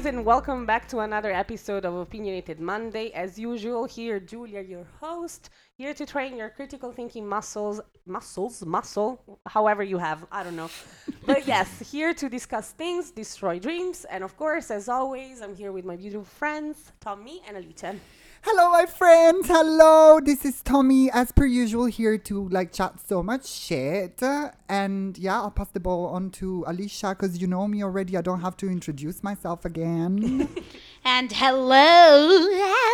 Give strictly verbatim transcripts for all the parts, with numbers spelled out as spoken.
guys, and welcome back to another episode of Opinionated Monday. As usual, here, Julia, your host, here to train your critical thinking muscles, muscles, muscle, however you have, I don't know. But yes, here to discuss things, destroy dreams, and of course, as always, I'm here with my beautiful friends, Tommy and Alicia. Hello, my friends. Hello. This is Tommy, as per usual, here to like chat so much shit. And yeah, I'll pass the ball on to Alicia because you know me already. I don't have to introduce myself again. And hello.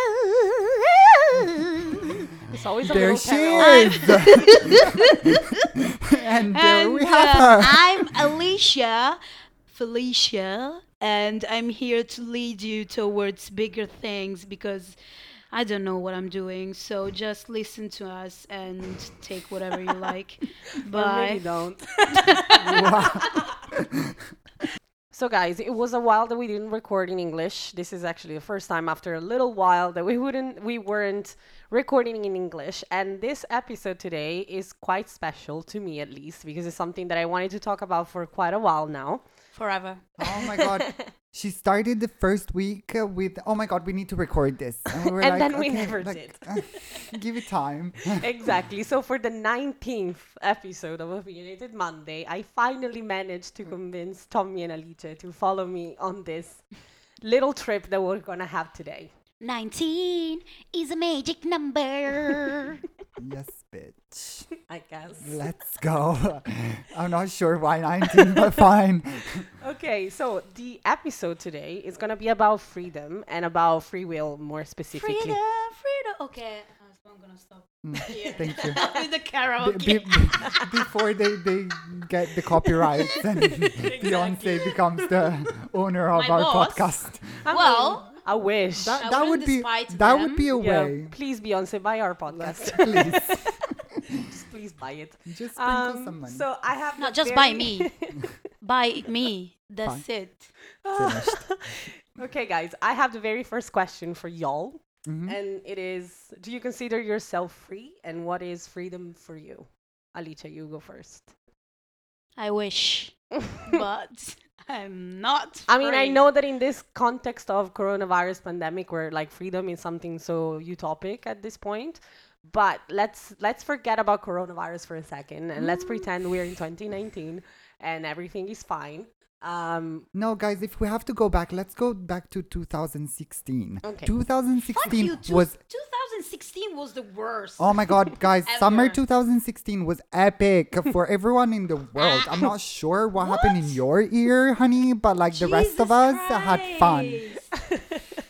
It's always a There little she carol. is. And there And we have uh, her. I'm Alicia, Felicia, and I'm here to lead you towards bigger things because I don't know what I'm doing. So just listen to us and take whatever you like. Or maybe Bye. don't. Wow. So guys, it was a while that we didn't record in English. This is actually the first time after a little while that we wouldn't we weren't recording in English. And this episode today is quite special to me, at least, because it's something that I wanted to talk about for quite a while now. Forever. Oh my God. She started the first week uh, with, oh my God, we need to record this. And, we were And like, then we okay, never like, did. uh, give it time. Exactly. So for the nineteenth episode of Opinionated Monday, I finally managed to convince Tommy and Alicia to follow me on this little trip that we're gonna have today. nineteen is a magic number. Yes, bitch. I guess. Let's go. I'm not sure why nineteen, but fine. Okay, so the episode today is gonna be about freedom and about free will more specifically. Freedom, freedom. Okay, uh, I'm gonna stop Mm, here. Thank you. With the Be- karaoke. be- be- before they, they get the copyright and Beyonce becomes the owner of My our boss. podcast. I Well, mean, I wish. That, I that would wouldn't be despite that them. would be a Yeah, way. please, Beyonce, buy our podcast. Please, Just please buy it. just sprinkle Um, some money. so I have Not the just by very- me. By me. That's Fine. it. Finished. Okay, guys, I have the very first question for y'all. Mhm. And it is, do you consider yourself free? And what is freedom for you? Alicia, you go first. I wish. But I'm not. I mean, I free. know that in this context of coronavirus pandemic where like freedom is something so utopic at this point, but let's let's forget about coronavirus for a second and let's pretend we're in twenty nineteen and everything is fine. Um, No, guys, if we have to go back, let's go back to two thousand sixteen. Okay. Fuck twenty sixteen you. Two, was twenty sixteen was the worst. oh my God, guys, summer Ever. twenty sixteen was epic for everyone in the world. I'm not sure what, happened in What? your ear, honey, but like the rest of Jesus us had fun. Christ.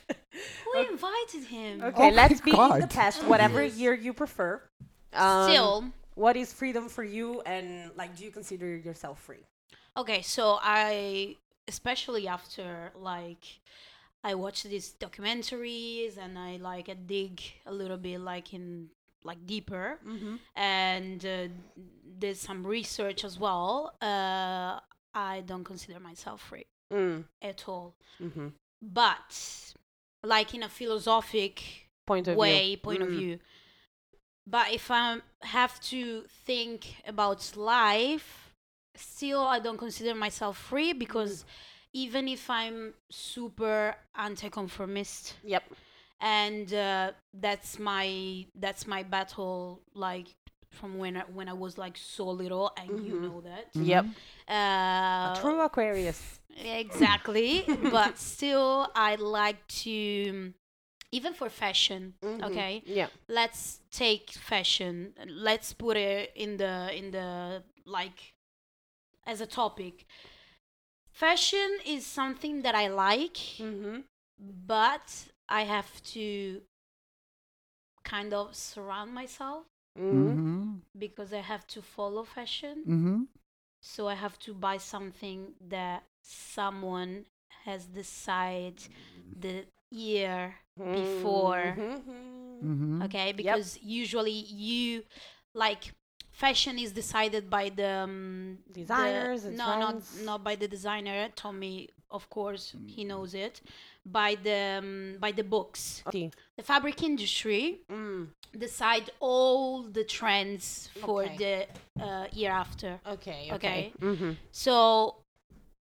Who invited him? okay, Oh let's my be in the God. past, whatever year you prefer. Um, Still. what is freedom for you and like do you consider yourself free? Okay, so I, especially after like, I watch these documentaries and I like I dig a little bit like in like deeper Mm-hmm. and uh, did some research as well. Uh, I don't consider myself free Mm. at all. Mm-hmm. But like in a philosophic Point of way, view. point of Mm. view. But if I have to think about life, still I don't consider myself free because even if I'm super anti-conformist, Yep. and uh, that's my that's my battle like from when I, when I was like so little, and you Mhm. know that. Yep. Uh, A true Aquarius. Exactly, but still I like to, even for fashion. Mhm. Okay, Yeah. let's take fashion. Let's put it in the in the like as a topic. Fashion is something that I like, Mm-hmm. but I have to kind of surround myself Mm-hmm. Mm-hmm. because I have to follow fashion. Mm-hmm. So I have to buy something that someone has decided the year before. Mm-hmm. Mm-hmm. Okay, because usually you like fashion is decided by the um, the- Designers and no, trends. not not by the designer. Tommy, of course, he knows it. By the um, by the books. Okay. The fabric industry Mm. decide all the trends for Okay. the uh, year after. Okay. Okay. Mm-hmm. So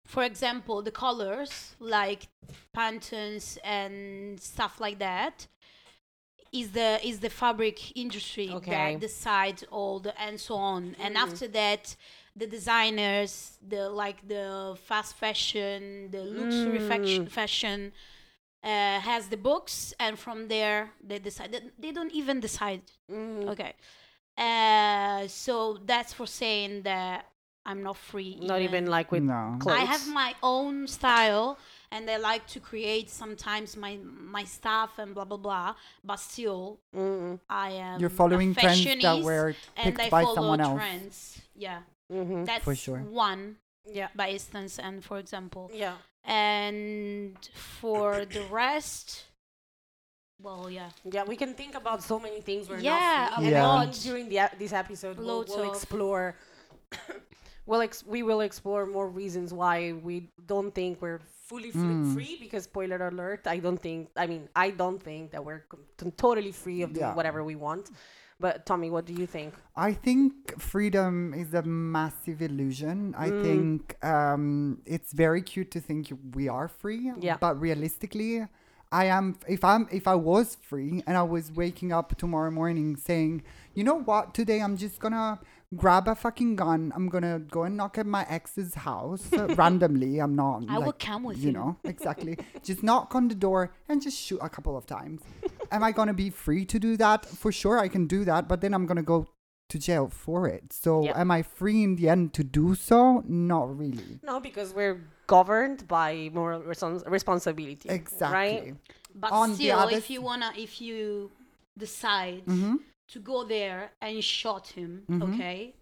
for example, the colors like Pantones and stuff like that is the is the fabric industry Okay. that decides all the and so on. And after that, the designers, the like the fast fashion, the luxury fac- fashion uh, has the books, and from there they decide. They, they don't even decide. Okay. Uh, so that's for saying that I'm not free. Not even like with No. clothes. I have my own style, and I like to create sometimes my my stuff and blah blah blah. But still, Mm-mm. I am You're following a trends that fashionist, were and picked I by follow someone else. trends. Yeah, Mm-hmm. that's For sure. one Yeah. by instance, and for example, Yeah. and for the rest, well, yeah, Yeah, we can think about so many things we're Yeah, not free. a And I lot. think during the, ep- this episode, we'll, Loads we'll of- explore. we'll ex- we will explore more reasons why we don't think we're fully fl- Mm. free. Because spoiler alert, I don't think. I mean, I don't think that we're com- t- totally free of doing Yeah. whatever we want. But Tommy, what do you think? I think freedom is a massive illusion. I Mm. think um, it's very cute to think we are free, Yeah. but realistically, I am. If I'm, if I was free and I was waking up tomorrow morning saying, you know what, today I'm just gonna grab a fucking gun. I'm gonna go and knock at my ex's house uh, randomly. I'm not. I will like, come with you you. know, exactly. Just knock on the door and just shoot a couple of times. Am I gonna be free to do that? For sure, I can do that, but then I'm gonna go to jail for it. So, Yeah. am I free in the end to do so? Not really. No, because we're governed by moral respons- responsibility. Exactly. Right? but On the still, other if you wanna, if you decide Mm-hmm. to go there and shot him, Mhm. okay,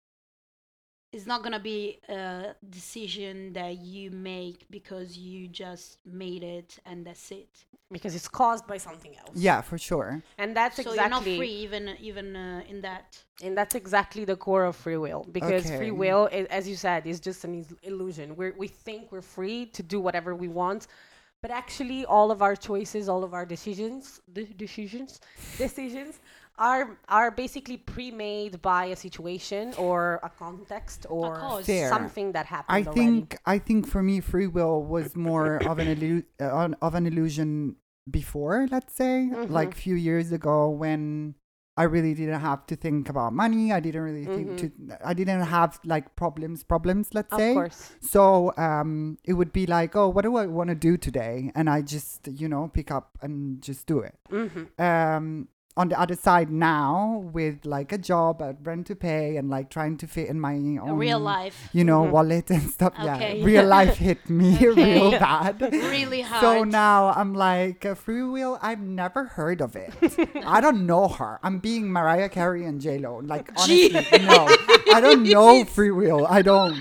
it's not gonna be a decision that you make because you just made it and that's it. Because it's caused by something else. Yeah, for sure. And that's So exactly. you're not free even even uh, in that. And that's exactly the core of free will, because Okay. free will, i- as you said, is just an is- illusion. We we think we're free to do whatever we want, but actually, all of our choices, all of our decisions, de- decisions, decisions, are are basically pre-made by a situation or a context or cause. Fair. something that happened. I already. think I think for me, free will was more of an illu- uh, on- of an illusion before. Let's say, Mhm. like few years ago, when I really didn't have to think about money. I didn't really think to. I didn't have like problems. Problems. Let's Of say. course. So um, it would be like, oh, what do I want to do today? And I just, you know, pick up and just do it. Mm-hmm. Um, on the other side now, with like a job, a rent to pay, and like trying to fit in my own A real life. you know, Mhm. wallet and stuff. Okay. Yeah, real life hit me Okay. real bad. Really hard. So now I'm like, uh, free will, I've never heard of it. I don't know her. I'm being Mariah Carey and J-Lo. Like, honestly, no. I don't know free will. I don't.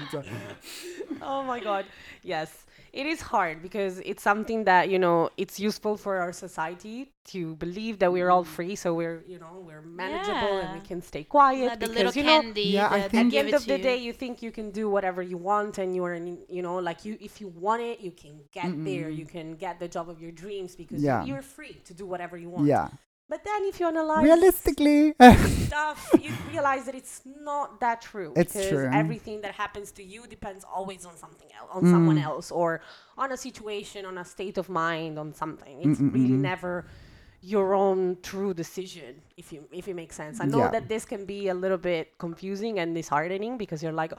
Oh my God. Yes. It is hard because it's something that, you know, it's useful for our society to believe that we're all free. So we're, you know, we're manageable and we Yeah. can stay quiet. Like the because, little you know, candy. Yeah, I that think- at the give end it of to the you. day, you think you can do whatever you want, and you're, in, you know, like you, if you want it, you can get there. You can get the job of your dreams because you- Yeah. you're free to do whatever you want. Yeah. But then if you analyze Realistically, stuff, you realize that it's not that true. It's because true. everything that happens to you depends always on something else, on someone Mm. else, or on a situation, on a state of mind, on something. It's really never your own true decision, if you if it makes sense. I know Yeah. that this can be a little bit confusing and disheartening because you're like,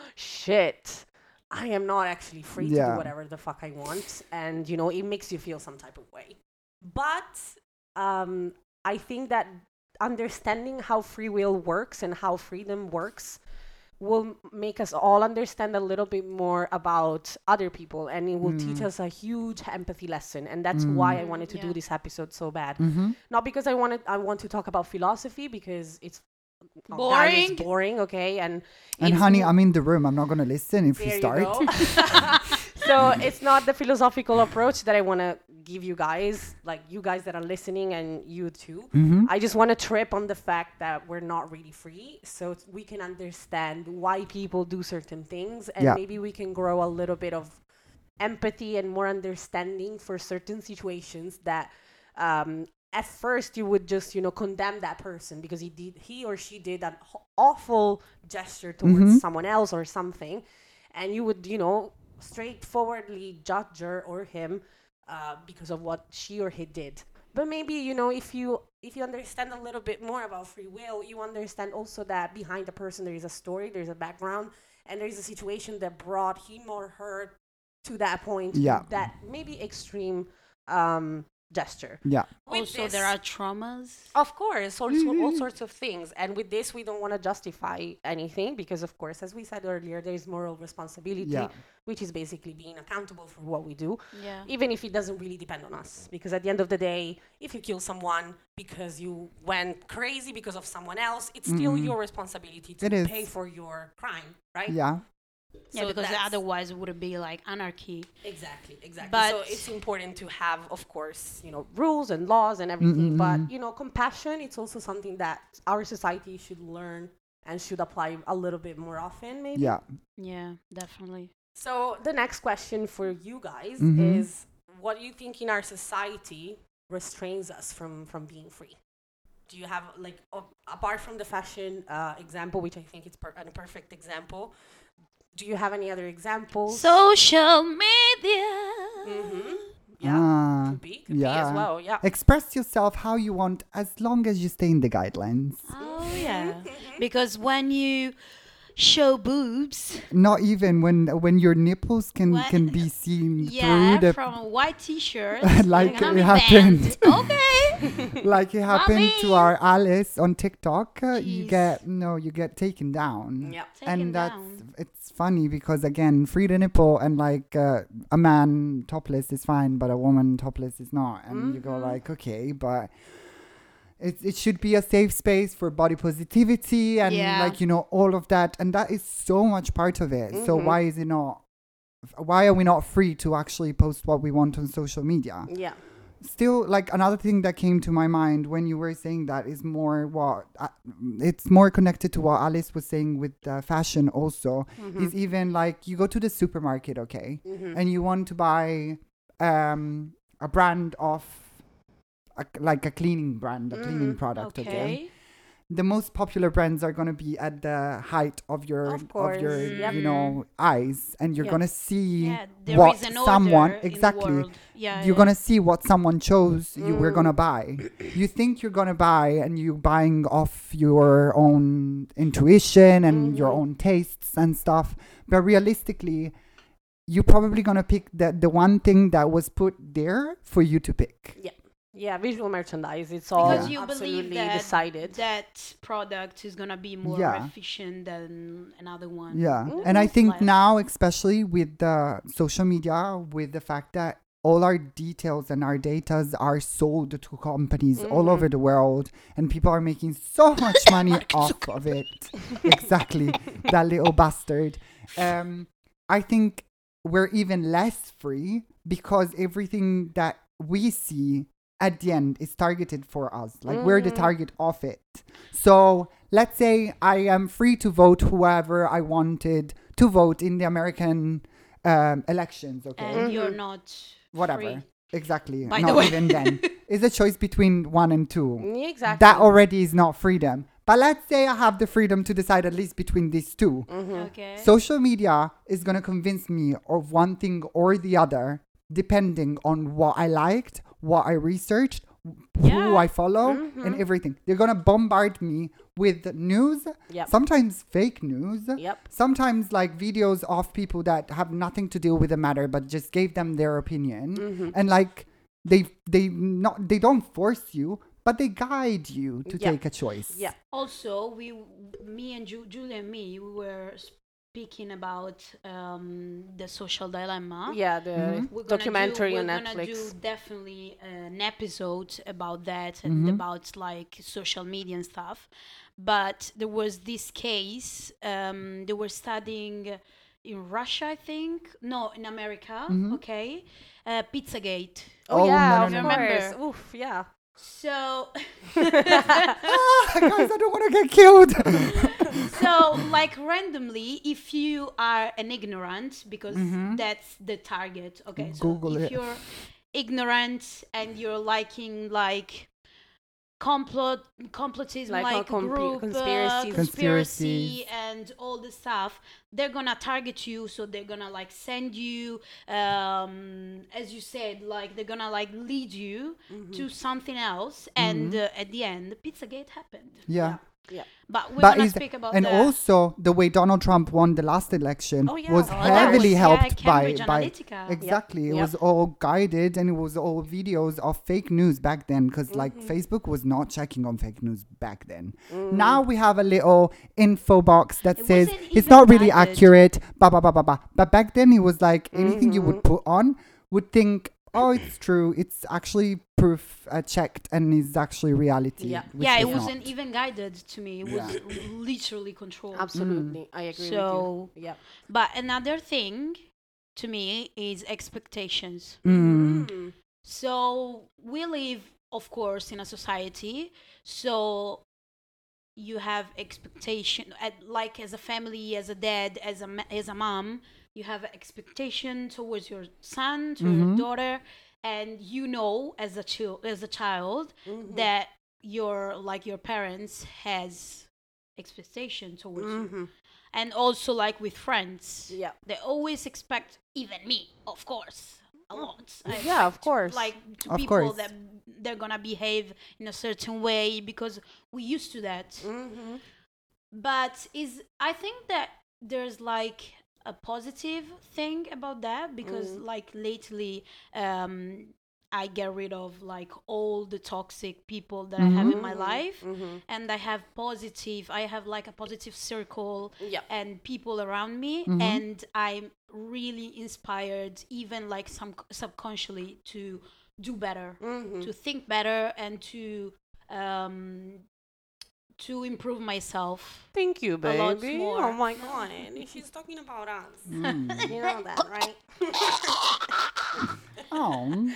shit, I am not actually free to Yeah. do whatever the fuck I want, and you know it makes you feel some type of way. But um, I think that understanding how free will works and how freedom works will m- make us all understand a little bit more about other people, and it will teach us a huge empathy lesson. And that's why I wanted to do yeah. this episode so bad. Mm-hmm. Not because I wanted I want to talk about philosophy, because it's oh, that is Boring. boring, okay? And And it's honey, n- I'm in the room. I'm not going to listen if there you start. go. So it's not the philosophical approach that I want to give you guys, like you guys that are listening and you too. Mm-hmm. I just want to trip on the fact that we're not really free, so t- we can understand why people do certain things, and Yeah. maybe we can grow a little bit of empathy and more understanding for certain situations that um, at first you would just, you know, condemn that person because he did he or she did an h- awful gesture towards Mhm. someone else or something, and you would, you know, straightforwardly judge her or him uh, because of what she or he did. But maybe, you know, if you if you understand a little bit more about free will, you understand also that behind the person there is a story, there's a background, and there is a situation that brought him or her to that point, Yeah. to that maybe extreme um, gesture. Yeah. With Also, this- there are traumas. of course, all, so- all sorts of things. And with this, we don't want to justify anything because, of course, as we said earlier, there is moral responsibility, Yeah. which is basically being accountable for what we do, Yeah. even if it doesn't really depend on us. Because at the end of the day, if you kill someone because you went crazy because of someone else, it's still Mhm. your responsibility to It is. pay for your crime, right? Yeah. Yeah, So because that's- otherwise it would be like anarchy. Exactly, exactly. But- so it's important to have, of course, you know, rules and laws and everything. Mm-mm-mm. But you know, compassion. It's also something that our society should learn and should apply a little bit more often, maybe. Yeah. Yeah, definitely. So the next question for you guys Mhm. is: what do you think in our society restrains us from from being free? Do you have like o- apart from the fashion uh, example, which I think is per- a perfect example? Do you have any other examples? Social media. Mm-hmm. Yeah, Ah, could be, could be as yeah. well. Yeah. Express yourself how you want as long as you stay in the guidelines. Oh yeah, because when you show boobs, Not even when when your nipples can What? can be seen yeah, through the from a white T-shirt, Like you're gonna it be happened. banned. Okay. like it happened to Mommy. our Alice on TikTok. Uh, you Jeez. get no, you get taken down. Yeah. Take and him that's down. it's funny because again, free the nipple and like uh, a man topless is fine, but a woman topless is not. And you go Mhm. like, okay, but it it should be a safe space for body positivity and Yeah. like you know all of that, and that is so much part of it. So Mhm. why is it not? Why are we not free to actually post what we want on social media? Yeah. Still, like another thing that came to my mind when you were saying that is more what uh, it's more connected to what Alice was saying with uh, fashion also Mm-hmm. is even like you go to the supermarket, okay, Mm-hmm. and you want to buy um a brand of a, like a cleaning brand, a cleaning Mhm. product, okay. Okay. The most popular brands are going to be at the height of your Of course, your yep. you know eyes, and you're Yep. going to see Yeah, there what is an someone order in the exactly world. Yeah, you're yeah. gonna see what someone chose you were Mm. gonna buy. You think you're gonna buy, and you buying off your own intuition and your Mhm. own tastes and stuff. But realistically, you're probably gonna pick the the one thing that was put there for you to pick. Yeah, visual merchandise. It's all Because Yeah. you believe absolutely that decided. that product is gonna be more Yeah. efficient than another one. Yeah, Mhm. and I think Less. now, especially with the social media, with the fact that all our details and our datas are sold to companies all Mhm. over the world, and people are making so much money off of it. Exactly, that little bastard. Um, I think we're even less free because everything that we see at the end is targeted for us. Like we're the Mhm. target of it. So let's say I am free to vote whoever I wanted to vote in the American um, elections. Okay, And you're Mhm. not whatever. free. Exactly. By the not way. even then. It's a choice between one and two. Yeah, exactly. That already is not freedom. But let's say I have the freedom to decide at least between these two. Mhm. Okay. Social media is going to convince me of one thing or the other, depending on what I liked, what I researched, who Yeah. I follow, and Mhm. everything. They're going to bombard me with news, Yep. sometimes fake news, Yep. sometimes like videos of people that have nothing to do with the matter, but just gave them their opinion. Mhm. And like, they they not they don't force you, but they guide you to Yeah. take a choice. Yeah. Also, we, me and Ju- Julia and me, we were speaking about um, the social dilemma. Mhm. Yeah, the We're gonna documentary do, on we're gonna Netflix. do definitely an episode about that and Mhm. about like social media and stuff. But there was this case. Um, they were studying in Russia, I think. No, in America. Mhm. Okay, uh, Pizzagate. Oh, Oh, yeah, no, of no, no, no. course. Oof, yeah. So, Ah, guys, I don't want to get killed. so like randomly, if you are an ignorant, because Mhm. that's the target. Okay, so Google if it. you're ignorant and you're liking like complot complotism, Like like, a comp- group conspiracies. uh, Conspiracies. conspiracy and all the stuff, they're gonna target you. So they're gonna like send you, um, as you said, like they're gonna like lead you to something else. And uh, at the end, Pizzagate happened. Yeah. Yeah. But we're But gonna is speak about and that. also the way Donald Trump won the last election Oh, yeah. was Oh, Oh, that heavily was, yeah, helped by Cambridge by Analytica. exactly. It Yep. was all guided and it was all videos of fake news back then because like Mm-hmm. Facebook was not checking on fake news back then. Now we have a little info box that It says wasn't it's even not really guided. accurate. Ba ba ba ba ba. But back then it was like anything you Mm-hmm. would put on would think. Oh, it's true. It's actually proof uh, checked and is actually reality. Yeah. which Yeah, it is wasn't not. even guided to me. It was literally controlled. Absolutely. I agree So- with you. Yeah. But another thing to me is expectations. Mm. Mm. So we live, of course, in a society. So you have expectation, at, like as a family, as a dad, as a ma- as a mom, you have an expectation towards your son, to Mhm. your daughter, and you know as a child, as a child, that your like your parents has expectation towards you, Mhm. and also like with friends, Yeah. they always expect, even me, of course, a lot. I Yeah, of expect, course. Like to Of people course. that they're gonna behave in a certain way because we used to that. Mhm. But is I think that there's like a positive thing about that because Mm. like lately um I get rid of like all the toxic people that I have in my life, Mhm. and I have positive I have like a positive circle Yeah. and people around me, Mhm. and I'm really inspired, even like some subconsciously, to do better, Mhm. to think better, and to um to improve myself. Thank you, A lot baby. more. Oh my god. She's talking about us. Mm. You know that, right? Oh.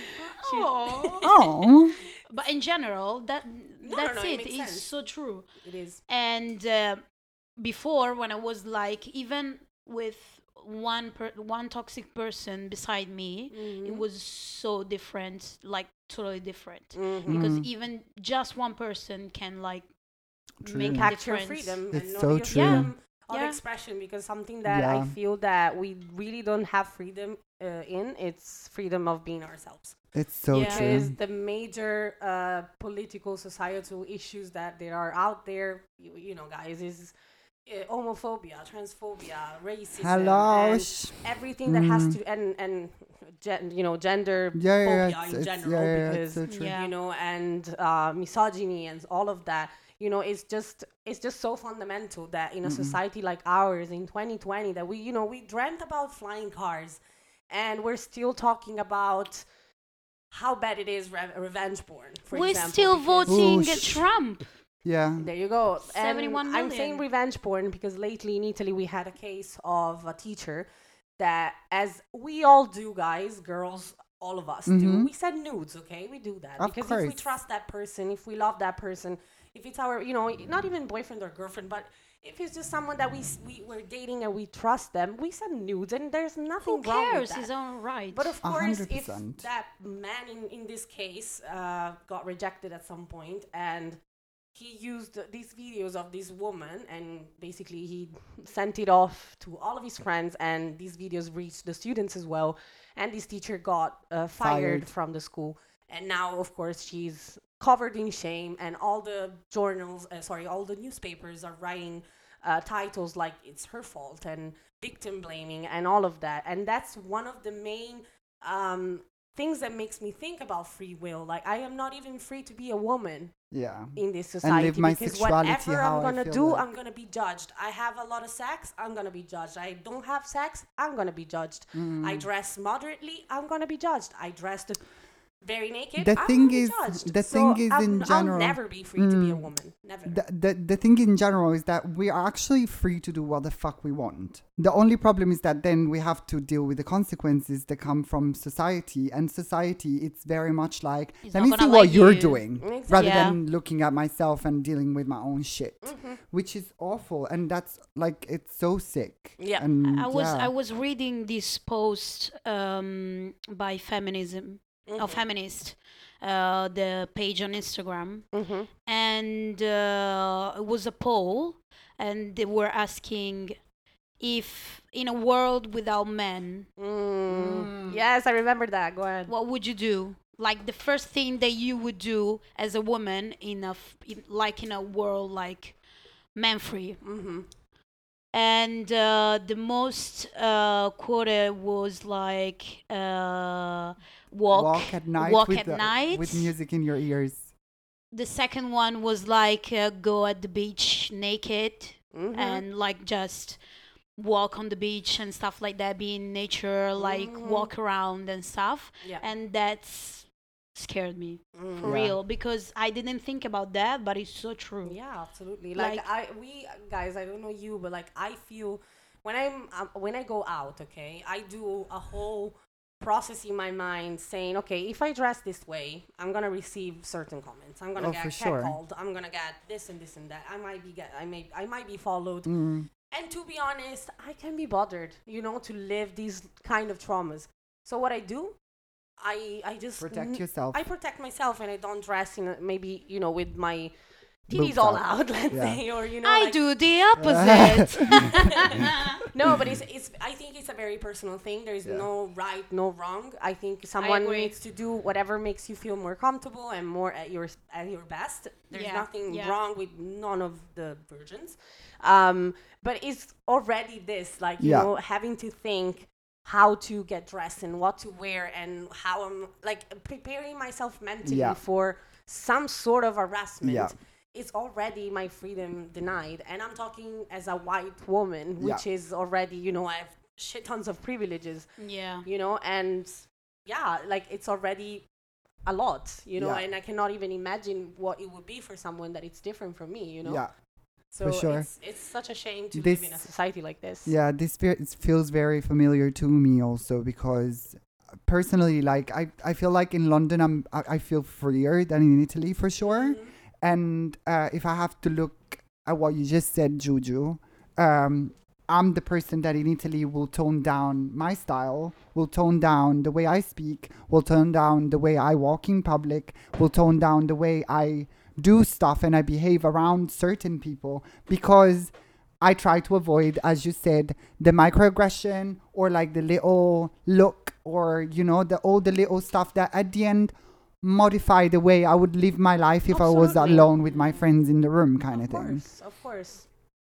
Oh. Oh. But in general, that no, that's no, it it. makes It's sense. so true. It is. And uh, before, when I was like, even with one per- one toxic person beside me, Mm-hmm. it was so different, like totally different. Mhm. Because Mm. even just one person can like True. make a Impact your difference. freedom It's and know so your true. freedom of Yeah. expression, because something that I Yeah. feel that we really don't have freedom uh, in, it's freedom of being ourselves. It's so Yeah. Because true. the major uh, political, societal issues that there are out there, you, you know, guys, is uh, homophobia, transphobia, racism, Hello. and sh- everything that has Mm. to, and and gen, you know, gender Yeah, yeah, phobia yeah, it's, in it's, general, yeah, yeah, it's because so true. Yeah. you know, and uh, misogyny and all of that. You know, it's just it's just so fundamental that in a society like ours in twenty twenty, that we, you know, we dreamt about flying cars, and we're still talking about how bad it is re- revenge porn. For We're example, still because- voting Ooh, sh- Trump. Yeah. There you go. And seventy-one I'm saying million. revenge porn because lately in Italy we had a case of a teacher that, as we all do, guys, girls, all of us do, Mhm. we send nudes, okay? We do that. Of because if we course. trust that person, if we love that person, if it's our, you know, not even boyfriend or girlfriend, but if it's just someone that we, s- we we're dating and we trust them, we send nudes, and there's nothing Who wrong with cares? that. It's all right. But of A course, hundred if percent. that man in, in this case uh, got rejected at some point, and he used these videos of this woman, and basically he sent it off to all of his friends, and these videos reached the students as well, and this teacher got uh, fired, Fired. from the school, and now of course she's covered in shame, and all the journals uh, sorry all the newspapers are writing uh, titles like it's her fault and victim blaming and all of that. And that's one of the main um, things that makes me think about free will. Like, I am not even free to be a woman Yeah. in this society, live my because sexuality whatever how I'm I gonna feel do, like. I'm gonna be judged. I have a lot of sex, I'm gonna be judged. I don't have sex, I'm gonna be judged. Mm. I dress moderately, I'm gonna be judged. I dressed very naked, The I'm thing gonna be is- judged. the So thing is I'm- in general- I'll never be free to be a Mm. woman. Never. The, the the thing in general is that we are actually free to do what the fuck we want. The only problem is that then we have to deal with the consequences that come from society. And society, it's very much like, It's let not me gonna see what let you're you- doing, Exactly. rather Yeah. than looking at myself and dealing with my own shit, Mhm. which is awful. And that's like, it's so sick. Yeah. And I was yeah. I was reading this post um, by Feminism of feminist, uh, the page on Instagram, Mm-hmm. and uh, it was a poll, and they were asking if in a world without men, Mm. Yes, I remember that. Go ahead. what would you do? Like the first thing that you would do as a woman in a f- in, like in a world like man free. Mm-hmm. And uh, the most uh, quoted was like uh, walk Walk at night walk with at the- night. with music in your ears. The second one was like uh, go at the beach naked Mm-hmm. and like just walk on the beach and stuff like that, be in nature, like Mhm. walk around and stuff. Yeah. And that's scared me Mm. for Yeah. real, because I didn't think about that, but it's so true. Yeah, absolutely. Like, Like- I, we guys, I don't know you, but like I feel when I'm um, when I go out, okay, I do a whole process in my mind saying, okay, if I dress this way, I'm gonna receive certain comments. I'm gonna Oh, get for sure. catcalled. I'm gonna get this and this and that. I might be get. I may. I might be followed. Mm. And to be honest, I can be bothered, you know, to live these kind of traumas. So what I do, I I just Protect n- yourself. I protect myself, and I don't dress in a, maybe you know with my Boobs titties all out. out, let's Yeah. say, or you know. I like- do the opposite. No, but it's it's. I think it's a very personal thing. There is Yeah. no right, no wrong. I think someone agree. needs to do whatever makes you feel more comfortable and more at your at your best. There's Yeah, nothing yeah. wrong with none of the virgins, um, but it's already this like you Yeah. know having to think how to get dressed and what to wear and how I'm like preparing myself mentally Yeah. for some sort of harassment. Yeah. It's already my freedom denied, and I'm talking as a white woman, Yeah. which is already, you know, I have shit tons of privileges, Yeah. you know, and yeah, like it's already a lot, you know, Yeah. and I cannot even imagine what it would be for someone that it's different from me, you know. Yeah. So for sure. it's it's such a shame to This- live in a society like this. Yeah, this fe- it feels very familiar to me also because personally, like I, I feel like in London I'm I, I feel freer than in Italy for sure. Mhm. And uh, if I have to look at what you just said, Juju, um, I'm the person that in Italy will tone down my style, will tone down the way I speak, will tone down the way I walk in public, will tone down the way I do stuff and I behave around certain people because I try to avoid, as you said, the microaggression or like the little look or, you know, the all the little stuff that at the end modify the way I would live my life if I was Absolutely. alone with my friends in the room kind of, Of thing. course, of course.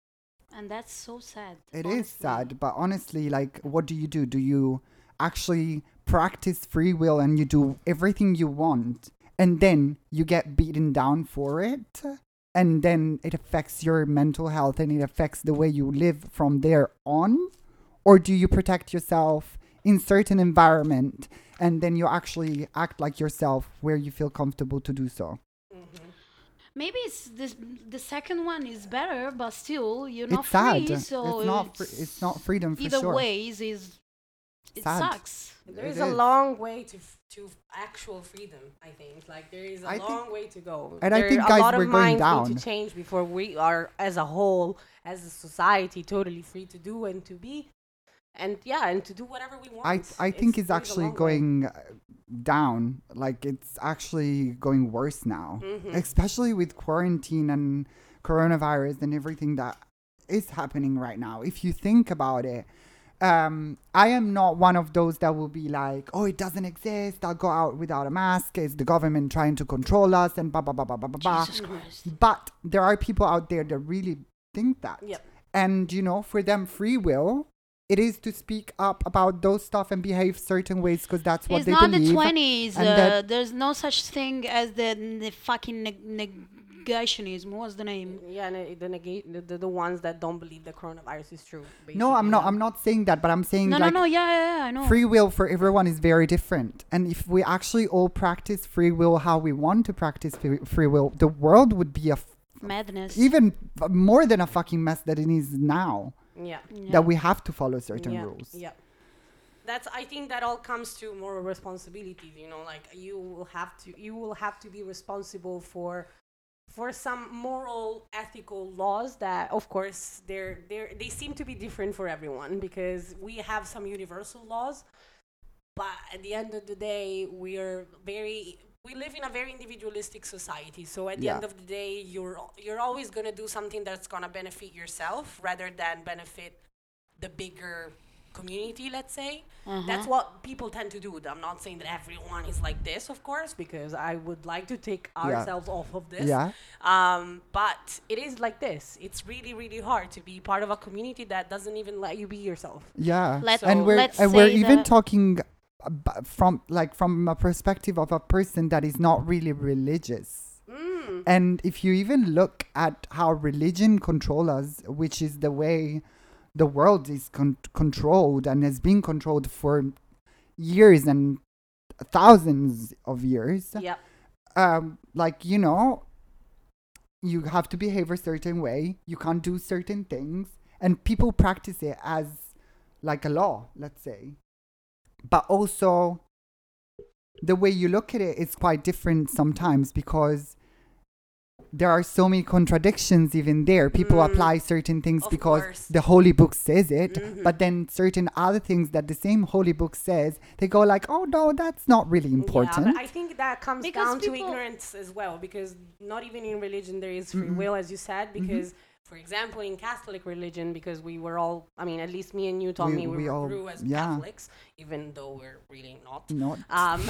And that's so sad. It is honestly. sad, but honestly, like, what do you do? Do you actually practice free will and you do everything you want and then you get beaten down for it? And then it affects your mental health and it affects the way you live from there on? Or do you protect yourself in certain environment and then you actually act like yourself where you feel comfortable to do so? Mhm. Maybe it's this, the second one is better, but still you're not It's sad. free. So it's not. Fr- it's not freedom for either sure. ways is it Sad. sucks. There It is a is. long way to f- to actual freedom. I think like there is a I think- long way to go. and I There- think, a guys, lot of we're going minds need down. to change before we are, as a whole, as a society, totally free to do and to be, and yeah, and to do whatever we want. I I think it's, there is a actually long way. going uh, down. Like it's actually going worse now, Mhm. especially with quarantine and coronavirus and everything that is happening right now. If you think about it, um, I am not one of those that will be like, "Oh, it doesn't exist. I'll go out without a mask. It's the government trying to control us and blah blah blah blah blah blah." blah." Jesus Christ. But there are people out there that really think that. Yep. And, you know, for them, free will, it is to speak up about those stuff and behave certain ways because that's what It's they not believe. the twenties. and Uh, that- there's no such thing as the, the fucking neg- negationism. What's the name? Yeah, and it- the, nega- the, the the ones that don't believe the coronavirus is true. No, I'm basically, not. yeah. I'm not saying that, but I'm saying No, like no, no. Yeah, yeah, yeah, I know. free will for everyone is very different. And if we actually all practice free will how we want to practice free, free will, the world would be a f- Madness. even f- more than a fucking mess that it is now. Yeah. Yeah. That we have to follow certain yeah. rules. Yeah. That's. I think that all comes to moral responsibilities. You know, like you will have to. You will have to be responsible for, for some moral, ethical laws that, of course, they're they are they seem to be different for everyone because we have some universal laws, but at the end of the day, we're very we live in a very individualistic society. So at the Yeah. end of the day, you're al- you're always gonna do something that's gonna benefit yourself rather than benefit the bigger community, let's say. That's what people tend to do. I'm not saying that everyone is like this, of course, because I would like to take Yeah. ourselves off of this. Yeah. Um, but it is like this. It's really, really hard to be part of a community that doesn't even let you be yourself. Yeah. Let's- and So- we're let's and we're say even that- talking ab- from like from a perspective of a person that is not really religious. Mm. And if you even look at how religion controls us, which is the way the world is con- controlled and has been controlled for years and thousands of years, Yep. um, like, you know, you have to behave a certain way, you can't do certain things, and people practice it as like a law, let's say. But also, the way you look at it is quite different sometimes because there are so many contradictions even there. People Mm. apply certain things Of because course. the holy book says it, Mhm. but then certain other things that the same holy book says, they go like, oh no, that's not really important. Yeah, but I think that comes Because down to people- ignorance as well, because not even in religion there is free Mm-mm. will, as you said, because, for example, in Catholic religion, because we were all, I mean, at least me and you, Tommy, we, we were- all- grew as yeah. Catholics, even though we're really not. Not Um,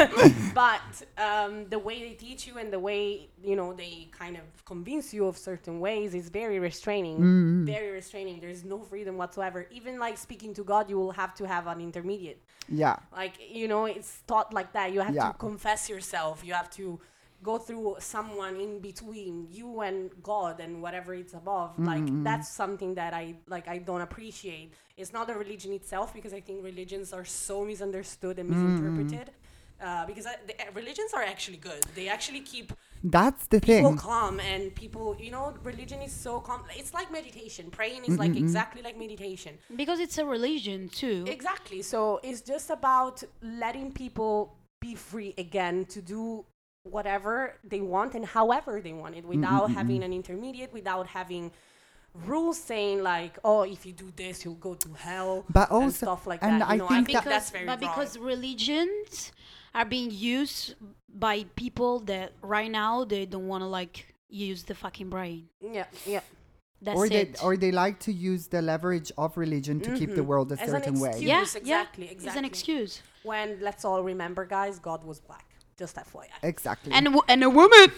but um, the way they teach you and the way, you know, they kind of convince you of certain ways is very restraining. Mm. Very restraining. There's no freedom whatsoever. Even like speaking to God, you will have to have an intermediate. yeah. Like, you know, it's taught like that. You have Yeah. to confess yourself. You have to go through someone in between you and God and whatever it's above. Like, that's something that I, like, I don't appreciate. It's not the religion itself, because I think religions are so misunderstood and misinterpreted. Uh, because I, the, uh, religions are actually good. They actually keep That's the people thing. calm, and people, you know, religion is so calm. It's like meditation. Praying is like exactly like meditation. Because it's a religion too. Exactly. So it's just about letting people be free again to do whatever they want and however they want it, without having an intermediate, without having rules saying like, oh, if you do this, you'll go to hell, But and also- stuff like and that. I You know, think I think that- that's very but wrong. because religions are being used by people that right now they don't want to like use the fucking brain. yeah, yeah. That's or they it. or they like to use the leverage of religion to keep the world a As an certain way. excuse. yeah, exactly, yeah. exactly. It's an excuse. When, let's all remember, guys, God was black. Just F Y I. Exactly. And a, wo- and a woman.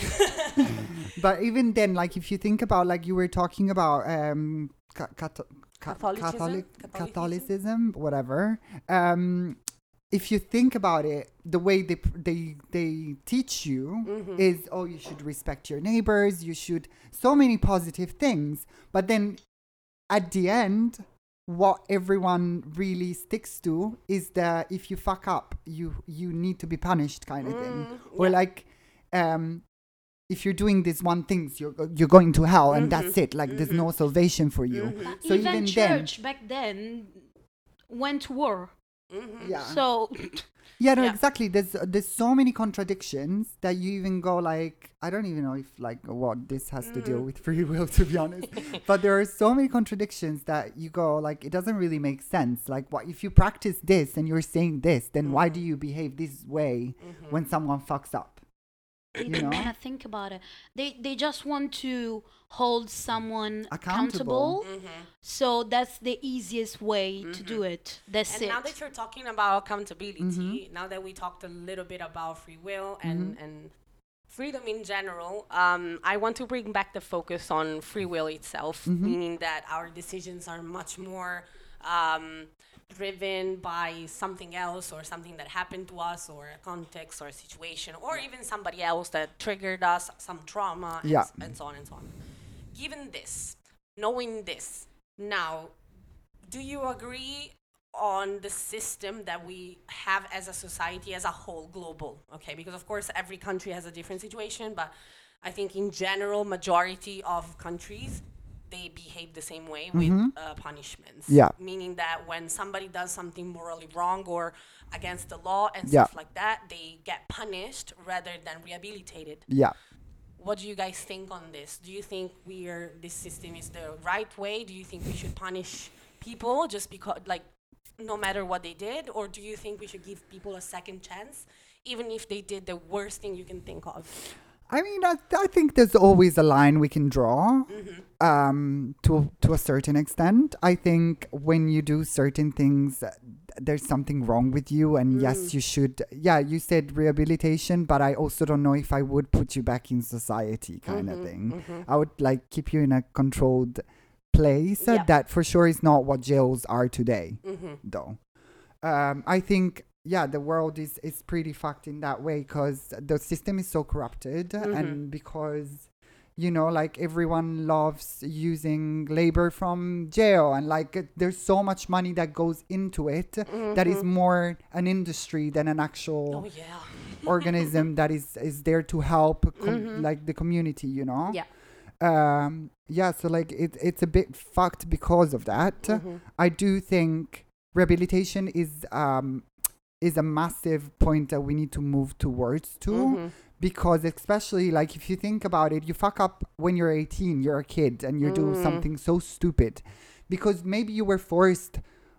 But even then, like if you think about, like you were talking about um, ca- cato- ca- Catholicism? Catholic Catholicism? Catholicism, whatever. Um, if you think about it, the way they pr- they they teach you Mm-hmm. is, oh, you should respect your neighbors. You should so many positive things. But then at the end, what everyone really sticks to is that if you fuck up, you you need to be punished, kind of thing. Mm, Or yeah. like, um, if you're doing this one thing, you're you're going to hell, and that's Mhm, it. Like, there's no salvation for you. But So even even then, church back then went to war. Mhm. yeah, So yeah, no, Yeah. exactly. There's there's so many contradictions that you even go like, I don't even know if like what this has to do Mm. with free will, to be honest. But there are so many contradictions that you go like, it doesn't really make sense. Like, what if you practice this and you're saying this, then why do you behave this way Mm-hmm. when someone fucks up? they You don't know? want to think about it. They they just want to hold someone Accountable. accountable. So that's the easiest way to do it. That's And it. now that you're talking about accountability, now that we talked a little bit about free will and, and freedom in general, um, I want to bring back the focus on free will itself, meaning that our decisions are much more um, driven by something else, or something that happened to us, or a context or a situation, or even somebody else that triggered us, some trauma, and, Yeah. s- and so on and so on. Given this, knowing this, now, do you agree on the system that we have as a society as a whole, global? Okay, because of course every country has a different situation, but I think in general, majority of countries, they behave the same way with uh, punishments. Yeah. Meaning that when somebody does something morally wrong or against the law and Yeah. stuff like that, they get punished rather than rehabilitated. Yeah. What do you guys think on this? Do you think we are this system is the right way? Do you think we should punish people just because, like, no matter what they did, or do you think we should give people a second chance, even if they did the worst thing you can think of? I mean, I, I think there's always a line we can draw Mm-hmm. um, to to a certain extent. I think when you do certain things, uh, there's something wrong with you, and Mm. yes, you should. Yeah, you said rehabilitation, but I also don't know if I would put you back in society, kind of Mhm, thing. mhm. I would like keep you in a controlled place. uh, Yeah. That for sure is not what jails are today, Mhm. though. Um, I think, yeah, the world is, is pretty fucked in that way because the system is so corrupted Mhm. and because, you know, like everyone loves using labor from jail and like it- there's so much money that goes into it that is Mhm. more an industry than an Oh actual yeah. organism that is, is there to help com- Mhm. like the community, you know? Yeah. Um, yeah, so like it, it's a bit fucked because of that. Mhm. I do think rehabilitation is um is a massive point that we need to move towards too Mhm. because especially like if you think about it, you fuck up when you're eighteen, you're a kid and you do Mm. something so stupid because maybe you were forced,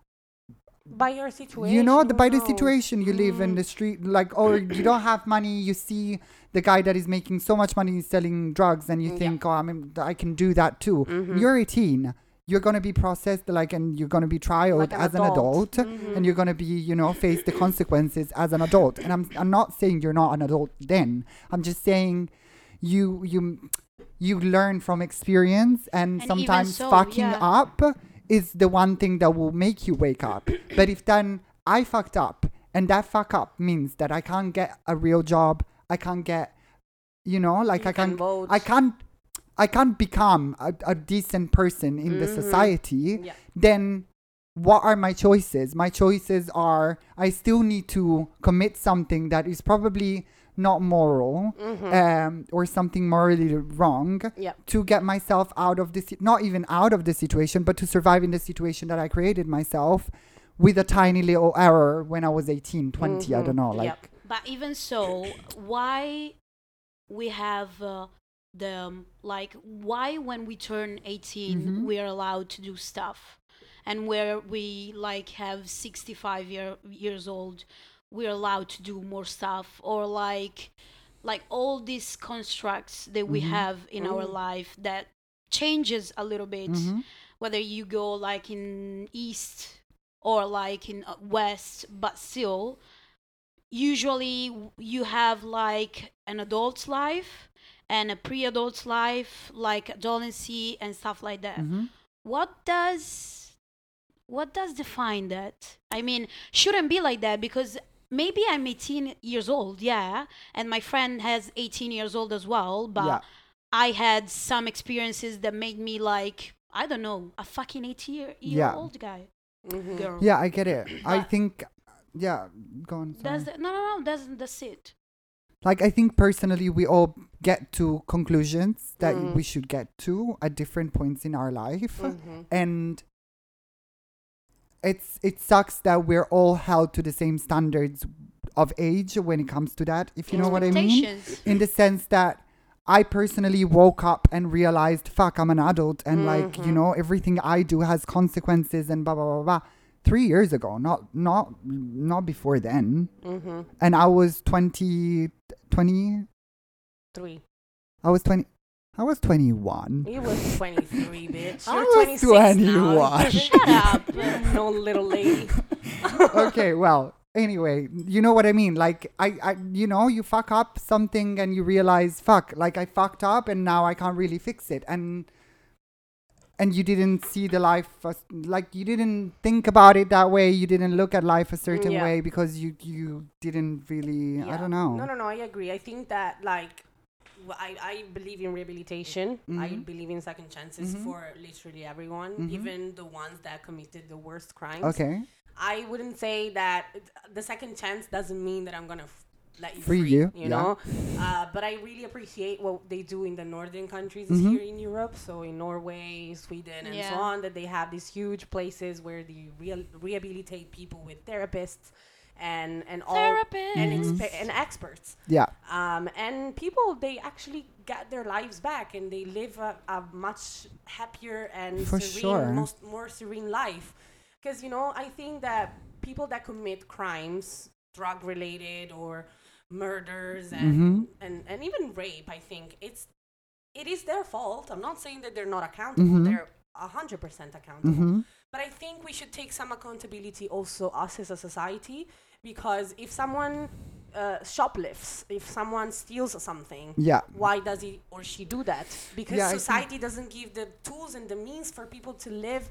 By your situation. you know, the, who by the knows? situation you live in Mm. the street, like, or you don't have money, you see the guy that is making so much money selling drugs and you Yeah. think, oh, I mean, I can do that too. Mhm. You're eighteen. You're going to be processed, like, and you're going to be trialed Like an as an adult. adult, Mhm. and you're going to be, you know, face the consequences as an adult. And I'm, I'm not saying you're not an adult then. I'm just saying you, you, you learn from experience, and, And even sometimes so, fucking yeah. up is the one thing that will make you wake up. But if then I fucked up, and that fuck up means that I can't get a real job, I can't get, you know, like You I can can't, vote. I can't, I can't become a, a decent person in the Mhm. society, Yeah. then what are my choices? My choices are I still need to commit something that is probably not moral Mhm. um, or something morally wrong Yeah. to get myself out of this, not even out of the situation, but to survive in the situation that I created myself with a tiny little error when I was eighteen, twenty, I Mhm. don't know. Like, Yep. But even so, why we have uh, the um, like why when we turn eighteen Mhm. we are allowed to do stuff, and where we like have sixty-five year, years old we're allowed to do more stuff, or like like all these constructs that we Mhm. have in our Mhm. life that changes a little bit, Mhm. whether you go like in east or like in uh, west, but still usually w- you have like an adult's life and a pre-adult's life, like adolescency and stuff like that. Mhm. What does what does define that? I mean, shouldn't be like that, because maybe I'm eighteen years old, yeah, and my friend has eighteen years old as well, but Yeah. I had some experiences that made me like, I don't know, a fucking eighteen year, year Yeah. old guy, Mhm. girl. Yeah, I get it. I But- think, yeah, go on. Sorry. That's the, no, no, no. That's that's it. Like, I think personally we all get to conclusions that Mm. we should get to at different points in our life, Mhm. and it's it sucks that we're all held to the same standards of age when it comes to that, if you know what I mean, Expectations. in the sense that I personally woke up and realized, fuck, I'm an adult, and like, you Mhm. know, everything I do has consequences and blah blah blah blah. Three years ago, not not not before then, Mhm. and I was twenty, twenty. Three. I was twenty. I was twenty-one. You was twenty-three, bitch. I You're was twenty-six twenty-one. now. Shut up. No little lady. Okay, well, anyway, you know what I mean? Like, I, I, you know, you fuck up something and you realize, fuck, like I fucked up and now I can't really fix it. And, and you didn't see the life, as, like you didn't think about it that way. You didn't look at life a certain Yeah. way because you, you didn't really, I Yeah. don't know. No, no, no. I agree. I think that like w- I, I believe in rehabilitation. I Mhm. believe in second chances Mhm. for literally everyone, Mhm. even the ones that committed the worst crimes. Okay. I wouldn't say that it- the second chance doesn't mean that I'm gonna f- let you Free free, you, you yeah. know. Uh, but I really appreciate what they do in the northern countries Mhm. here in Europe. So in Norway, Sweden, and so Yeah. on, that they have these huge places where they real rehabilitate people with therapists and and all Therapist. and Mhm. expe- and experts. Yeah. Um, and people, they actually get their lives back and they live a, a much happier and For serene, sure. most more serene life. because you know I think that people that commit crimes, drug related or murders and, Mhm. and and even rape, I think it's it is their fault. I'm not saying that they're not accountable. Mhm. They're a hundred percent accountable. Mhm. But I think we should take some accountability also us as a society, because if someone uh, shoplifts, if someone steals something, Yeah. why does he or she do that? Because Yeah, I think- society doesn't give the tools and the means for people to live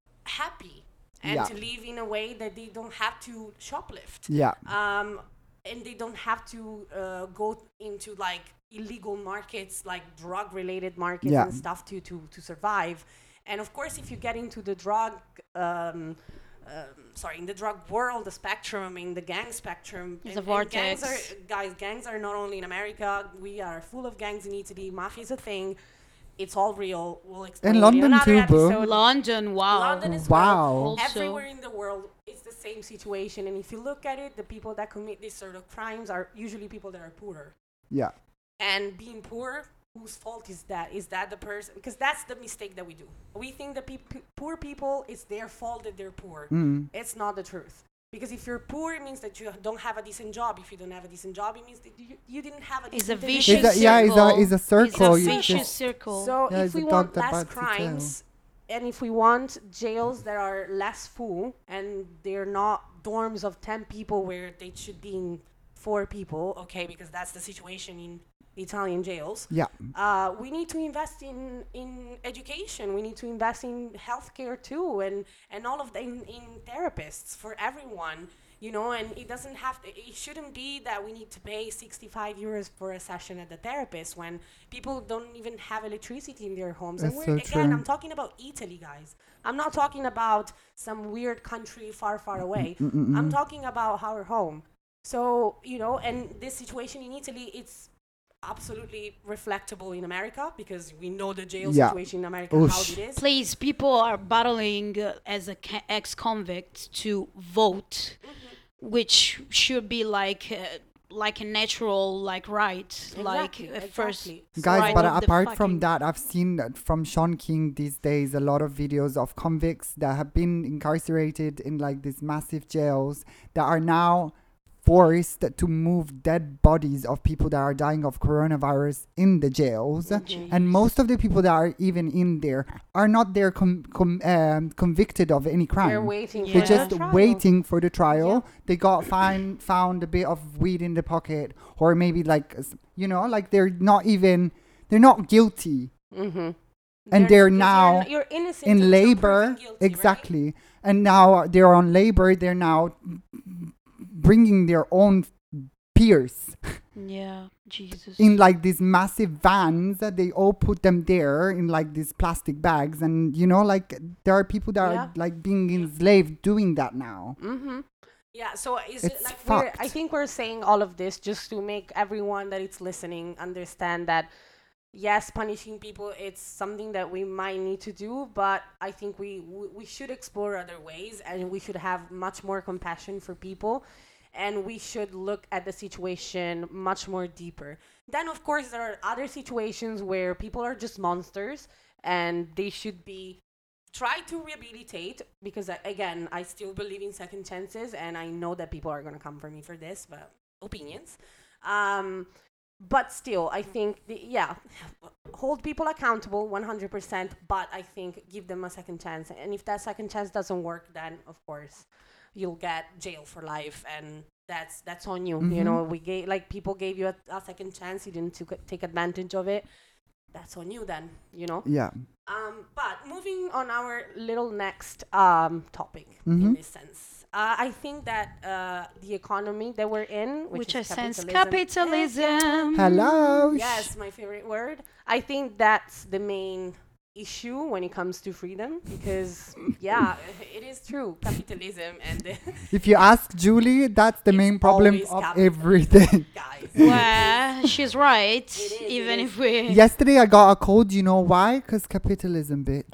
happy and Yeah. to live in a way that they don't have to shoplift. Yeah. Um, and they don't have to uh, go into like illegal markets, like drug related markets Yeah. and stuff to, to, to survive. And of course, if you get into the drug, um, um, sorry, in the drug world, the spectrum, in the gang spectrum, It's and- a and gangs vortex. are, guys, gangs are not only in America. We are full of gangs in Italy. Mafia is a thing. It's all real. We'll explain it London in another too, bro. episode. London, wow. London is Wow. well. Also- Everywhere in the world, it's the same situation. And if you look at it, the people that commit these sort of crimes are usually people that are poorer. Yeah. And being poor, whose fault is that? Is that the person? Because that's the mistake that we do. We think that peop- poor people, it's their fault that they're poor. Mm. It's not the truth. Because if you're poor, it means that you don't have a decent job. If you don't have a decent job, it means that you, you didn't have a It's decent a education. vicious It's a, yeah, it's a, circle. it's a circle. It's a You vicious just- circle. So Yeah, if it's we a want dog that less bites its tail. crimes, and if we want jails that are less full, and they're not dorms of ten people where they should be in four people, okay, because that's the situation in Italian jails. Yeah. Uh, we need to invest in, in education. We need to invest in healthcare too, and, and all of the in, in therapists for everyone. You know, and it doesn't have to, it shouldn't be that we need to pay sixty-five euros for a session at the therapist when people don't even have electricity in their homes. That's and so we're, again, true. I'm talking about Italy, guys. I'm not talking about some weird country far, far away. I'm talking about our home. So, you know, and this situation in Italy, it's absolutely reflectable in America because we know the jail Yeah. situation in America, Oosh. how it is. Please, people are battling uh, as a ca- ex-convict to vote, Mm-hmm. which should be like uh, like a natural like right, like Exactly, uh, first. exactly. Guys, right but of the apart from fucking- that, I've seen that from Sean King these days a lot of videos of convicts that have been incarcerated in like these massive jails that are now forced to move dead bodies of people that are dying of coronavirus in the jails. And most of the people that are even in there are not there com- com- um, convicted of any crime. They're waiting Yeah. for They're the just trial. waiting for the trial. They got find found a bit of weed in the pocket, or maybe like s- you know, like they're not even they're not guilty, Mm-hmm. and they're because now you're, you're innocent in until labor. proven guilty, right? Exactly, and now they're on labor. They're now bringing their own peers Yeah, Jesus. in like these massive vans. That they all put them there in like these plastic bags, and you know, like there are people that Yeah. are like being enslaved doing that now. Mm-hmm. Yeah, so is it It's like we're, I fucked. think we're saying all of this just to make everyone that it's listening understand that yes, punishing people it's something that we might need to do, but I think we we, we should explore other ways and we should have much more compassion for people. And we should look at the situation much more deeper. Then, of course, there are other situations where people are just monsters and they should be tried to rehabilitate because, I, again, I still believe in second chances and I know that people are going to come for me for this, but opinions. Um, but still, I think, the, yeah, hold people accountable one hundred percent, but I think give them a second chance. And if that second chance doesn't work, then, of course, you'll get jail for life, and that's that's on you. You Mhm. know, we gave like people gave you a, a second chance. You didn't took, take advantage of it. That's on you then. You know. Yeah. Um, but moving on our little next um topic in Mhm. this sense, uh, I think that uh the economy that we're in, which, which is I sense capitalism. capitalism. Hello. Yes, my favorite word. I think that's the main issue when it comes to freedom because yeah, it is true, capitalism and the If you ask Julie, that's the It's main problem always of capitalism. everything. guys. Well, she's right. It is, it even is. if we. Yesterday I got a cold. You know why? Because capitalism, bitch.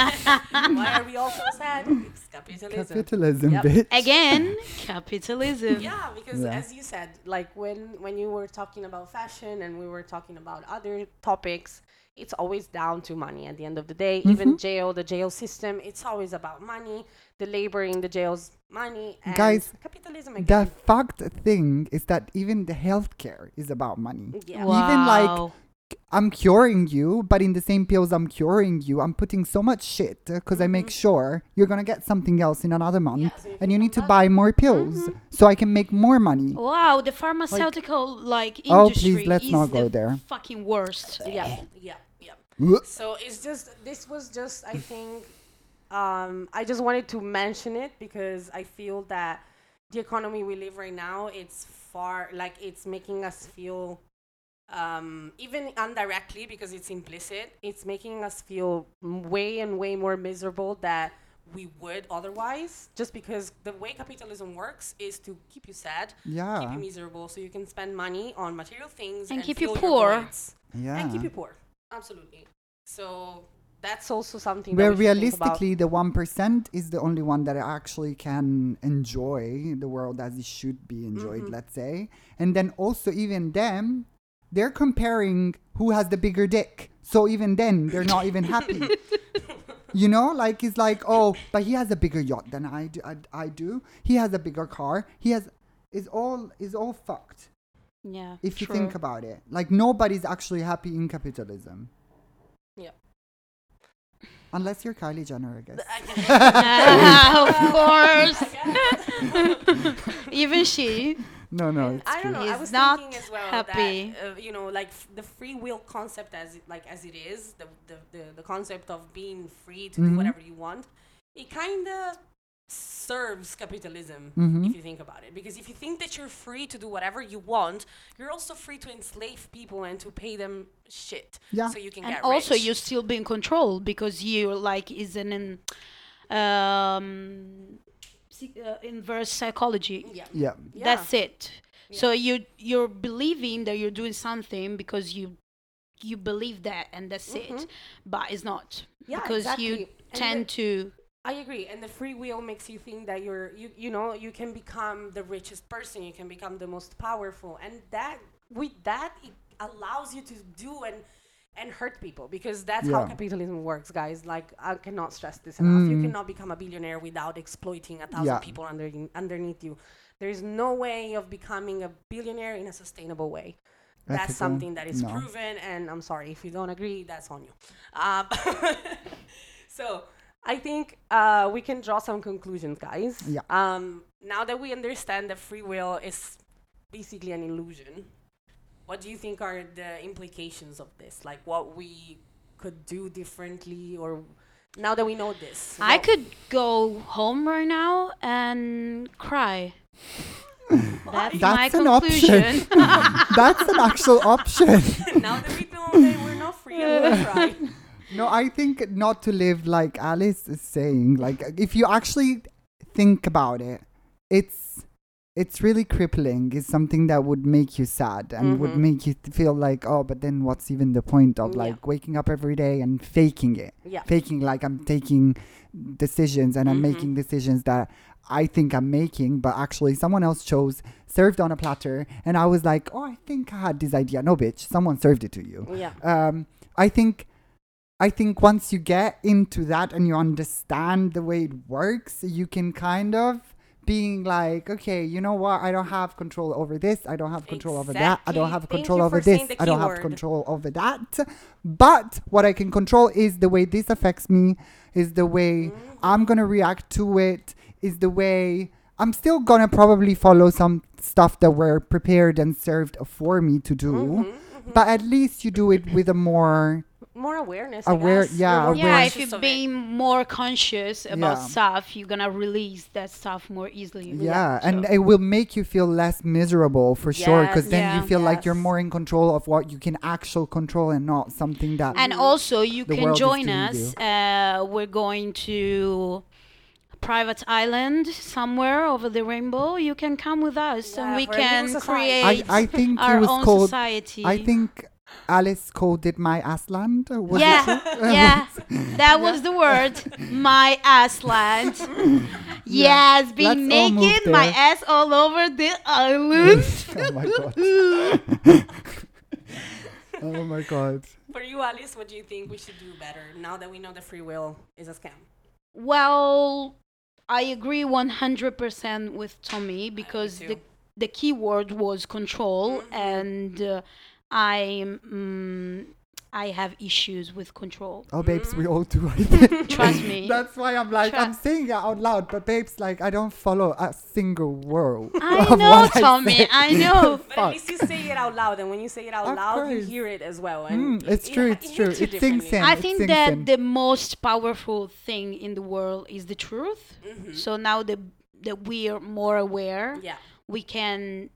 Why are we all so sad? It's capitalism. Capitalism, Yep. bitch. Again, capitalism. Yeah, because Yeah. as you said, like when when you were talking about fashion and we were talking about other topics, it's always down to money at the end of the day. Mm-hmm. Even jail, the jail system, it's always about money. The labor in the jails, money. And Guys, capitalism The again. fact thing is that even the healthcare is about money. Yeah. Even like Wow. I'm curing you, but in the same pills I'm curing you, I'm putting so much shit because I make sure you're gonna get something else in another month, Yeah, so you and can you need to come back. buy more pills so I can make more money. Wow, the pharmaceutical like, Oh, industry please, let's is not the go there. fucking worst. Yeah, yeah, yeah. Ugh. So it's just, this was just, I think, um, I just wanted to mention it because I feel that the economy we live right now, it's far, like it's making us feel, um, even indirectly because it's implicit, it's making us feel m- way and way more miserable that we would otherwise, just because the way capitalism works is to keep you sad, keep Yeah, you miserable, so you can spend money on material things And keep you fill your poor. voids. yeah. And keep you poor. Absolutely. So that's also something Where that we should think about. realistically, the one percent is the only one that actually can enjoy the world as it should be enjoyed, Mhm. let's say. And then also, even them, they're comparing who has the bigger dick. So even then, they're not even happy. You know, like it's like, oh, but he has a bigger yacht than I do. I, I do. He has a bigger car. He has. It's all. It's all fucked. Yeah. If you true. think about it, like nobody's actually happy in capitalism. Yeah. Unless you're Kylie Jenner, I guess. of course. Even she. No, no, And it's I don't true. know. I Is was not thinking as well happy. that uh, you know, like f- the free will concept, as it, like as it is, the the, the, the concept of being free to Mhm. do whatever you want, it kind of serves capitalism Mhm. if you think about it. Because if you think that you're free to do whatever you want, you're also free to enslave people and to pay them shit, Yeah. so you can And get also, rich. you still be in control because you like is an in, um, psy- uh, inverse psychology. yeah. Yeah. Yeah. That's it. Yeah. So you you're believing that you're doing something because you you believe that, and that's it. Mhm. But it's not, Yeah, because exactly. you And tend the- to. I agree, and the free will makes you think that you're you you know you can become the richest person, you can become the most powerful, and that with that it allows you to do and and hurt people, because that's how Yeah. capitalism works, guys. Like, I cannot stress this enough. You Mm. cannot become a billionaire without exploiting a thousand Yeah. people under underneath you. There is no way of becoming a billionaire in a sustainable way. That's Ethical? something that is No. proven, and I'm sorry if you don't agree. That's on you. Um, so I think uh, we can draw some conclusions, guys. Yeah. Um, now that we understand that free will is basically an illusion, what do you think are the implications of this? Like, what we could do differently, or now that we know this? I what- could go home right now and cry. That's, my That's an option. conclusion. That's an actual option. now that we know that we're not free, I'm gonna cry. No, I think not to live like Alice is saying. Like, if you actually think about it, it's it's really crippling. It's something that would make you sad and would Mhm. make you th- feel like, oh, but then what's even the point of Yeah. like waking up every day and faking it? Yeah. Faking like I'm taking decisions and I'm Mhm. making decisions that I think I'm making, but actually someone else chose, served on a platter, and I was like, oh, I think I had this idea. No, bitch, someone served it to you. Yeah. Um, I think, I think once you get into that and you understand the way it works, you can kind of being like, okay, you know what? I don't have control over this. I don't have control over that. I don't Exactly. have Thank control you over for saying this. the I don't have keyword. control over that. But what I can control is the way this affects me, is the way I'm going to react to it, is the way I'm still going to probably follow some stuff that were prepared and served for me to do. Mhm, mhm. But at least you do it with a more More awareness. Aware- I guess. yeah, You're more aware- Yeah, if conscious you're of it. being more conscious about Yeah. stuff, you're gonna release that stuff more easily. yeah, and so- it will make you feel less miserable for sure, because Yes, then yeah. you feel like you're Yes. more in control of what you can actual control and not something that And also, you The can world is join giving us. Uh, we're going to a private island somewhere over the rainbow. You can come with us, Yeah, and we for a new can society. I, create I think our it was own called society. I think Alice called it my Assland. Was yeah, it? yeah, that was the word. My ass land. Yes, being Let's all move naked, my there. ass all over the island. Oh my god. Oh my god. For you, Alice, what do you think we should do better now that we know that free will is a scam? Well, I agree one hundred percent with Tommy because too. the the key word was control, Mhm. and uh, I mm, I have issues with control. Oh, babes, we all do. I think. Trust me. That's why I'm like, I'm Trust- saying it out loud, but babes, like, I don't follow a single word. I of know, what I Tommy. say. I know. But at Fuck. least you say it out loud, and when you say it out Of loud, you course. hear it as well. And Mm, it's it- true, it it's true. hits you It sinks differently. in. I it think sinks that in. the most powerful thing in the world is the truth. Mhm. So now that that we are more aware, Yeah. we can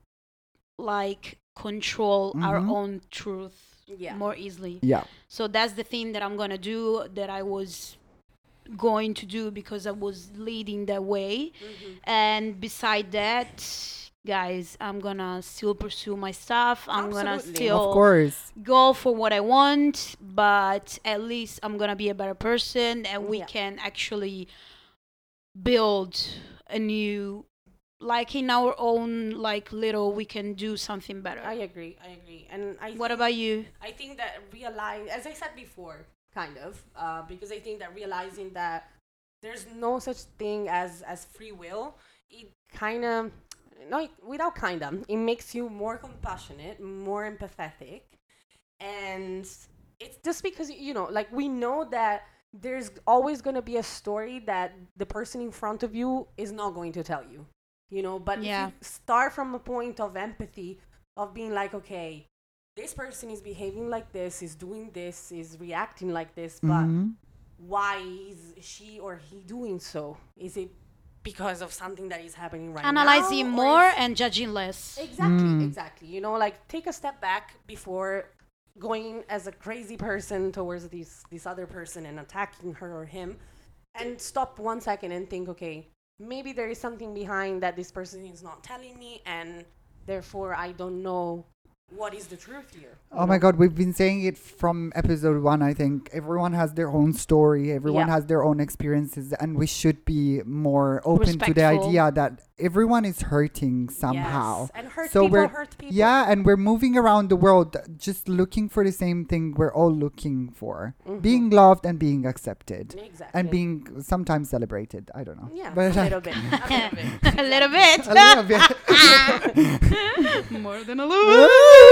like control our Mhm. own truth Yeah. more easily. Yeah. So that's the thing that I'm gonna do, that I was going to do because I was leading that way. Mhm. And beside that, guys, I'm gonna still pursue my stuff. I'm gonna Absolutely. still Of course. go for what I want, but at least I'm gonna be a better person, and we Yeah. can actually build a new, like in our own like little, we can do something better. I agree. I agree. And I. What think- about you? I think that realize, as I said before, kind of, uh, because I think that realizing that there's no such thing as as free will, it kind of, no, without kind of, it makes you more compassionate, more empathetic, and it's just because you know, like we know that there's always going to be a story that the person in front of you is not going to tell you, you know. But Yeah. if you start from a point of empathy, of being like, okay, this person is behaving like this, is doing this, is reacting like this, but Mhm. why is she or he doing so? Is it because of something that is happening right Analyzing now? or more is- and judging less. Exactly, Mm. exactly. You know, like take a step back before going as a crazy person towards this this other person and attacking her or him, and stop one second and think, okay, maybe there is something behind that this person is not telling me, and therefore I don't know what is the truth here. Oh my God, we've been saying it from episode one, I think. Everyone has their own story, everyone Yeah. has their own experiences, and we should be more open to the Respectful. idea that everyone is hurting somehow. Yes. And hurt So people we're- hurt people. Yeah, and we're moving around the world just looking for the same thing we're all looking for. Mhm. Being loved and being accepted. Exactly. And being sometimes celebrated. I don't know. yeah, But, a uh, little bit. A little bit. A little bit. a little bit. More than a little.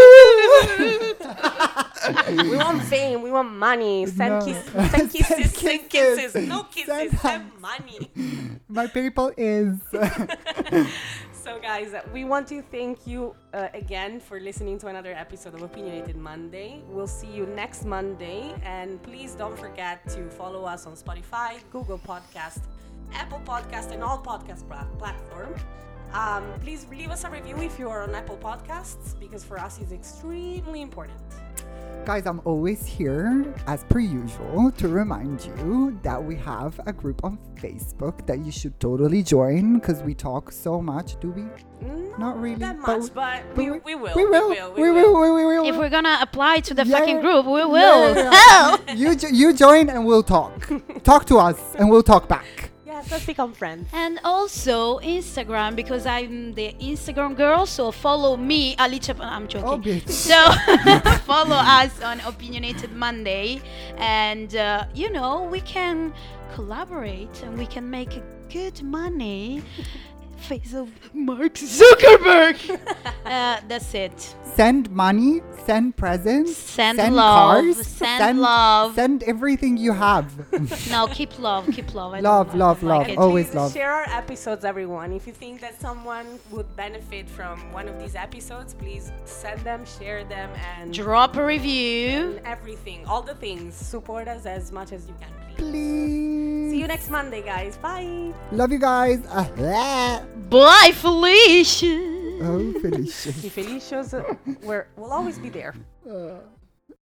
We want fame. We want money. Send, No. kiss, send kisses. Send kisses. kisses. No kisses. Send Send, hugs. money. My people is. So, guys, uh, we want to thank you uh, again for listening to another episode of Opinionated Monday. We'll see you next Monday. And please don't forget to follow us on Spotify, Google Podcast, Apple Podcast, and all podcast pla- platforms. Um, please leave us a review if you are on Apple Podcasts, because for us it's extremely important. Guys, I'm always here, as per usual, to remind you that we have a group on Facebook that you should totally join because we talk so much. Do we? Not, Not really, that but much, but, but we, we- we will. We will. We will. We will. We will. If we're gonna apply to the Yeah, fucking yeah. group, we Yeah, will. yeah, yeah. you jo- you join and we'll talk. Talk to us and we'll talk back. Yes, let's become friends. And also Instagram, because I'm the Instagram girl. So follow me, Alicia. I'm joking. Oh, bitch. So follow us on Opinionated Monday, and uh, you know, we can collaborate and we can make a good money. Face of Mark Zuckerberg. uh, that's it. Send money, send presents, Send, send love. cars, send, love. send everything you have. No, keep love. Keep love. I Love, don't, I love, don't like love. it. And Always please love. share our episodes, everyone. If you think that someone would benefit from one of these episodes, please send them, share them, and, Drop a review. and everything. All the things. Support us as much as you can, please. Please. See you next Monday, guys. Bye. Love you guys. Uh, Bye, Felicia. oh, Felicia. The Felicias uh, we're, will always be there. Uh.